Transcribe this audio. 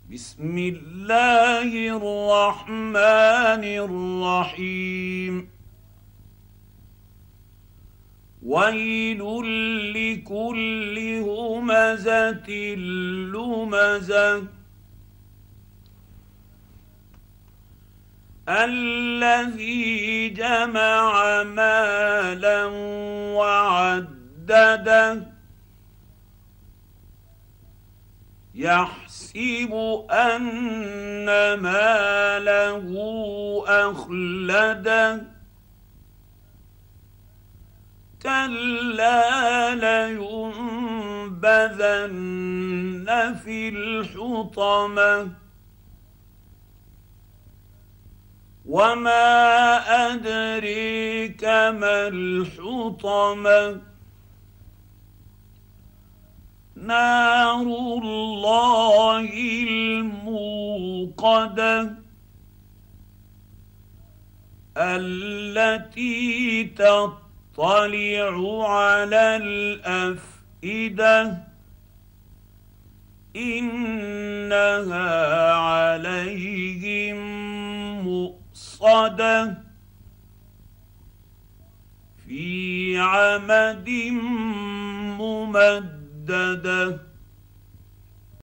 بسم الله الرحمن الرحيم. ويل لكل همزة لمزة الذي جمع مالا وعدده يحسب أن ماله أخلده كلا لينبذن في الحطمة وما أدريك ما الحطمة نار الله الموقدة التي تطلع على الأفئدة إنها عليهم مؤصدة في عمد ممددة.